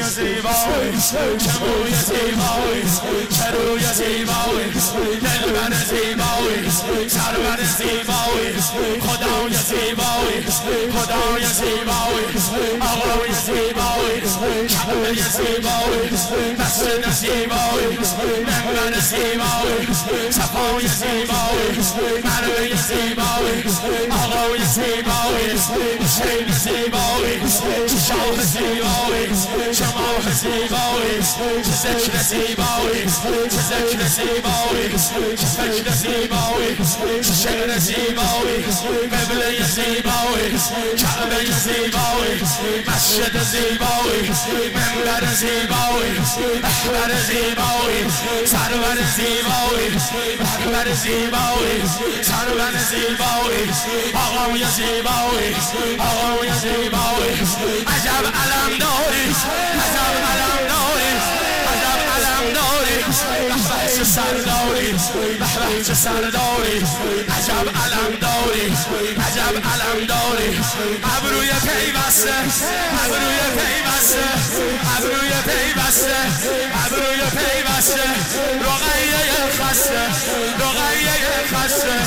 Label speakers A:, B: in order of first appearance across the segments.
A: زیبایی چه موی زیبایی چه روی زیبایی دلبر زیبایی سرور زیبایی خدای زیبایی خدای زیبایی آقای زیبایی کعبه زیبایی مسجد زیبایی منبر زیبایی صفای زیبایی مروه زیبایی آقای زیبایی حسین زیبایی شاه زیبایی شماه زیبایی ذکر زیبایی ذکر زیبایی فکر زیبایی شعر زیبایی قبله زیبایی کعبه زیبایی مسجد زیبایی منبر زیبایی محور زیبایی سرور زیبایی محور زیبایی سرور زیبایی آقای زیبایی آقای زیبایی عجب علم داری عجب علم داری عجب علم داری بحث سرداری بحث سرداری عجب علم داری عجب علم داری ابروی پیوسته ابروی پیوسته ابروی پیوسته ابروی پیوسته رقیه خسته رقیه خسته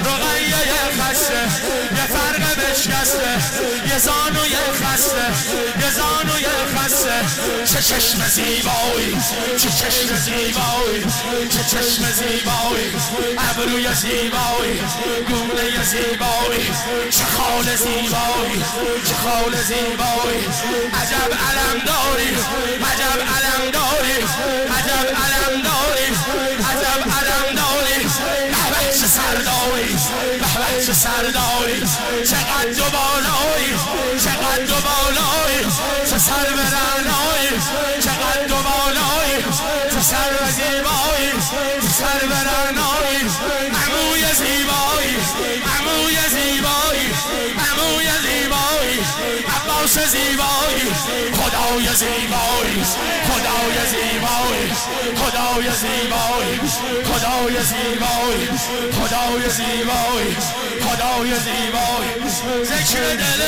A: رقیه خسته یه فرق بشکسته یه زانوی خسته یه زانوی خسته چه چشم زیبایی چه چشم زیبایی چه چشم زیبایی ابروی زیبایی گونه زیبایی چه خال زیبایی چه خال زیبایی عجب علم داری عجب علم داری عجب علم داری عجب علم داری بحبه چه سرداری بحبه چه سرداری چقدر و بالایی چقدر و بالایی چه سر برنایی چقدر و بالایی چه سر و زیبایی چه سر برنایی عموی زیبایی عموی زیبایی عموی زیبایی عباس زیبایی خدای زیبایی خدای زیبایی خدای زیبایی خدای زیبایی خدای زیبایی خدای زیبایی ذکر دل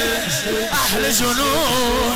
A: اهل جنون